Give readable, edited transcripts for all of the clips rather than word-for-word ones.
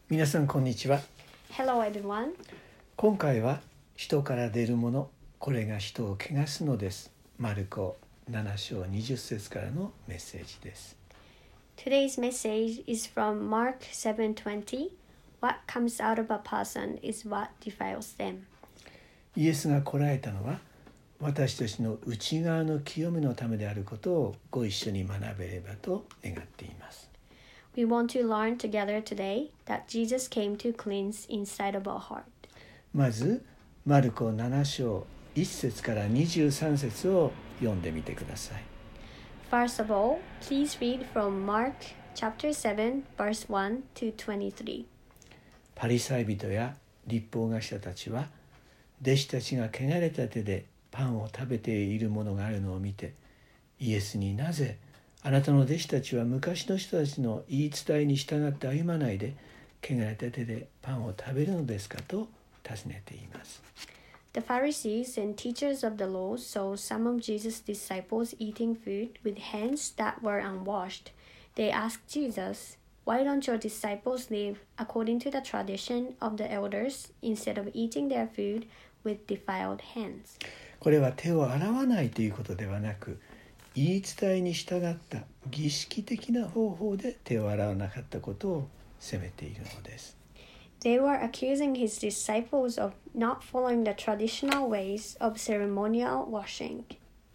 皆さんこんにちは。 Hello everyone. 今回は人から出るもの、これが人を汚すのです。マルコ7章20節からのメッセージです。 Today's message is from Mark 7:20. What comes out of a person is what defiles them. イエスが来られたのは私たちの内側の清めのためであることをご一緒に学べればと願っています。 We want to learn together today that Jesus came to cleanse inside of our heart. まずマルコ7章1節から23節を読んでみてください。 First of all, please read from Mark chapter 7 verse 1 to 23. パリサイ人や律法学者たちは弟子たちが汚れた手でパンを食べているものがあるのを見て、イエスになぜあなたの弟子たちは昔の人たちの言い伝えに従って歩まないで汚れた手でパンを食べるのですかと尋ねています。 The Pharisees and teachers of the law saw some of Jesus' disciples eating food with hands that were unwashed. They asked Jesus, "Why don't your disciples live according to the tradition of the elders instead of eating their food with defiled hands?" これは手を洗わないということではなく、言い伝えに従った儀式的な方法で手を洗わなかったことを責めているのです。 They were accusing his disciples of not following the traditional ways of ceremonial washing.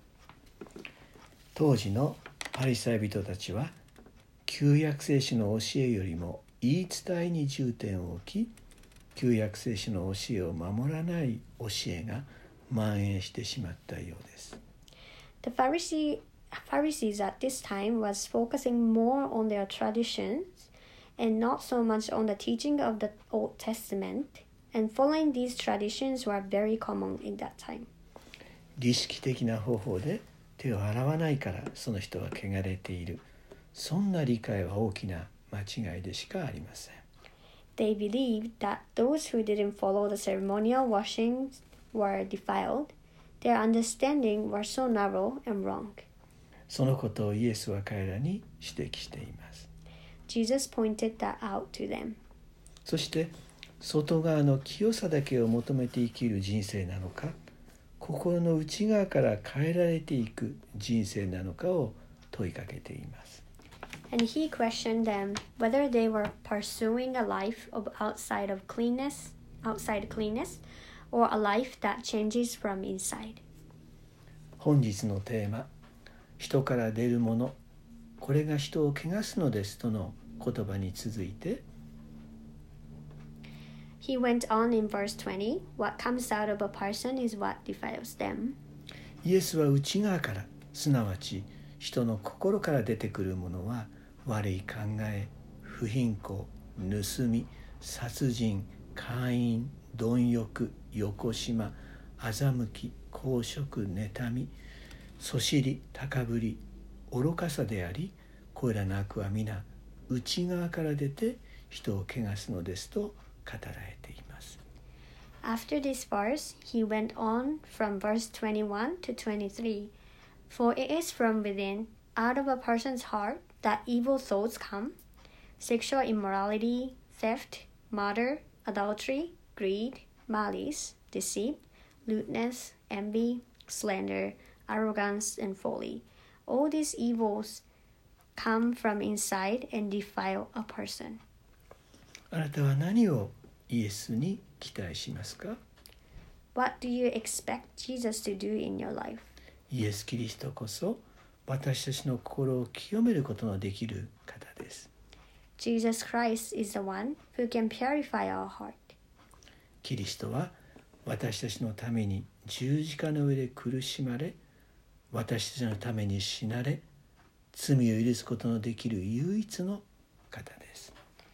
当時のパリサイ人たちは旧約聖書の教えよりも言い伝えに重点を置き、旧約聖書の教えを守らない教えが蔓延してしまったようです。 The Pharisees at this time was focusing more on their traditions and not so much on the teaching of the Old Testament, and following these traditions were very common in that time. 儀式的な方法で手を洗わないからその人は汚れている、そんな理解は大きな間違いでしかありません。 They believed that those who didn't follow the ceremonial washings were defiled. Their understanding was so narrow and wrong. そのことをイエスは彼らに指摘しています。 Jesus pointed that out to them. そして外側の清さだけを求めて生きる人生なのか、心の内側から変えられていく人生なのかを問いかけています。 And he questioned them whether they were pursuing a life of outside cleanness, or a life that changes from inside. 本日のテーマ、人から出るもの、これが人を汚すのですとの言葉に続いて、 He went on in verse 20, "What comes out of a person is what defiles them." イエスは内側から、すなわち人の心から出てくるものは悪い考え、不貧困、盗み、殺人、姦淫、貪欲、よこしま、欺き、公職、妬み、そしり、高ぶり、愚かさであり、これらの悪は皆内側から出て人を汚すのですと語られています。 After this verse, he went on from verse 21 to 23. For it is from within, out of a person's heart, that evil thoughts come: sexual immorality, theft, murder, adultery, greed, malice, deceit, lewdness, envy, slander, arrogance, and folly. All these evils come from inside and defile a person. あなたは何をイエスに期待しますか？ What do you expect Jesus to do in your life? イエス・キリストこそ私たちの心を清めることのできる方です。 Jesus Christ is the one who can purify our heart. キリストは私たちのために十字架の上で苦しまれ、私たちのために死なれ、罪を許すことのできる唯一の方です。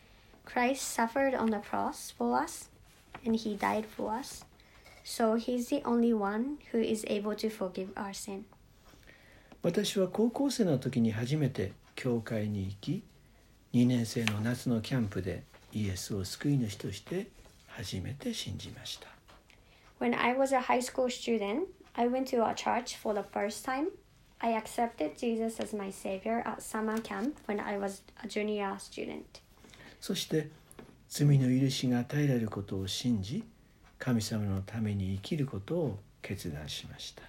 Christ suffered on the cross for us, and he died for us. So he's the only one who is able to forgive our sin. 私は高校生の時に初めて教会に行き、2年生の夏のキャンプでイエスを救い主として初めて信じました。 When I was a high school student, I went to a church for the first time. I accepted Jesus as my savior at summer camp when I was a junior student. そして罪の許しが与えられることを信じ、神様のために生きることを決断しました。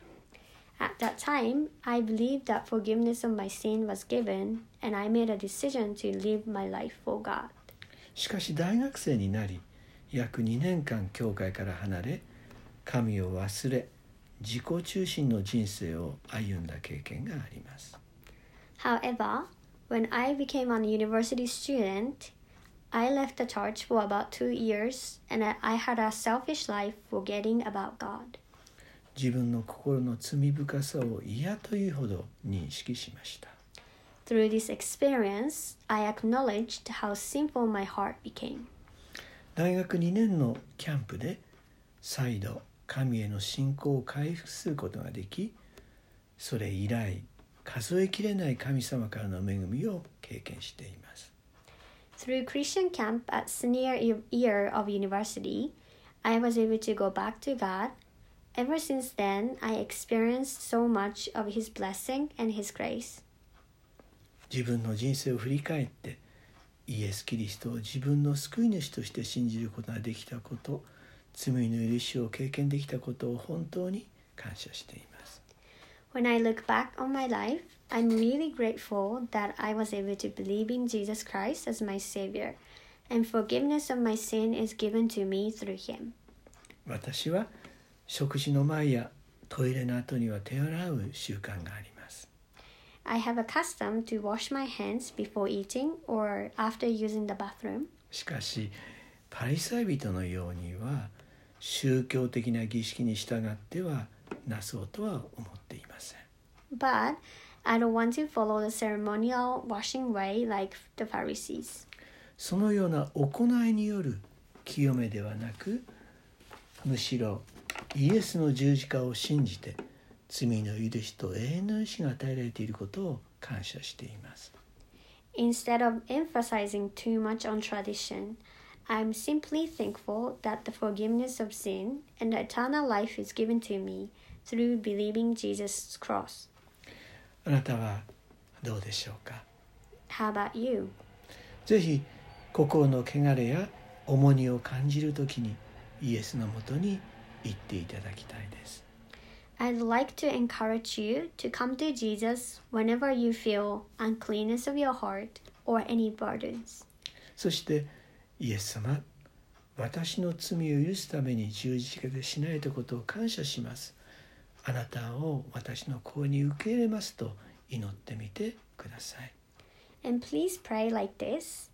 At that time, I believed that forgiveness of my sin was given, and I made a decision to live my life for God. しかし大学生になり、約2年間教会から離れ、神を忘れ、自己中心の人生を歩んだ経験があります。 However, when I became a university student, I left the church for about 2 years, and I had a selfish life forgetting about God. 自分の心の罪深さを嫌というほど認識しました。 Through this experience, I acknowledged how sinful my heart became. 大学2年のキャンプで再度神への信仰を回復することができ、それ以来数えきれない神様からの恵みを経験しています。 Through Christian camp at senior year of university, I was able to go back to God. Ever since then, I experienced so much of His blessing and His grace. 自分の人生を振り返ってイエス・キリストを自分の救い主として信じることができたこと、罪の許しを経験できたことを本当に感謝しています。 When I look back on my life, I'm really grateful that I was able to believe in Jesus Christ as my Savior, and forgiveness of my sin is given to me through Him. 私は食事の前やトイレの後には手を洗う習慣があります。 I have a custom to wash my hands before eating or after using the bathroom. しかし、パリサイ人のようには宗教的な儀式に従ってはなそうとは思っていません。 But I don't want to follow the ceremonial washing way like the Pharisees. そのような行いによる清めではなく、むしろイエスの十字架を信じて罪の許しと永遠の許しが与えられていることを感謝しています。 Instead of emphasizing too much on tradition, I'm simply thankful that the forgiveness of sin and the eternal life is given to me through believing Jesus' cross. あなたはどうでしょうか。 How about you? ぜひ心の汚れや重荷を感じるときにイエスのもとに行っていただきたいです。 I'd like to encourage you to come to Jesus whenever you feel uncleanness of your heart or any burdens. そしてイエス様、私の罪を許すために十字架で死なれたことを感謝します。あなたを私の子に受け入れますと祈ってみてください。 And please pray like this.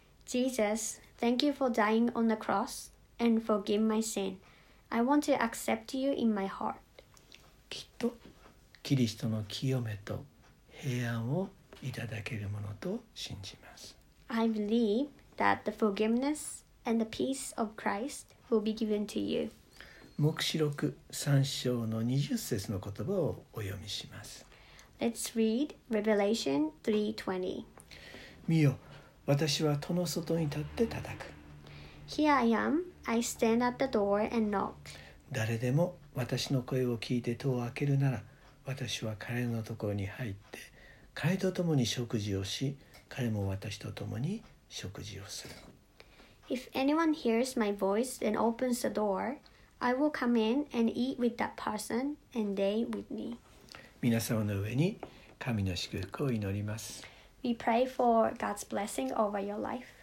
Jesus, thank you for dying on the cross and forgive my sin. I want to accept you in my heart. きっとキリストの清めと平安をいただけるものと信じます。 I believe that the forgiveness and the peace of Christ will be given to you. 黙示録3章の20節の言葉をお読みします。 Let's read Revelation 3:20. 見よ、私は戸の外に立って叩く。 Here I am, I stand at the door and knock. 誰でも私の声を聞いて戸を開けるなら、私は彼のところに入って、彼と共に食事をし、彼も私と共に食事をする。 If anyone hears my voice and opens the door, I will come in and eat with that person and they with me. 皆様の上に神の祝福を祈ります。 We pray for God's blessing over your life.